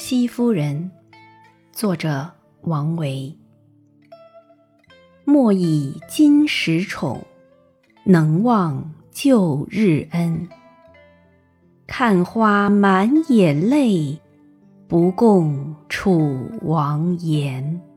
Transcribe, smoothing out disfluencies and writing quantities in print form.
戚夫人，作者王维。莫以今时宠，能忘旧日恩。看花满眼泪，不共楚王言。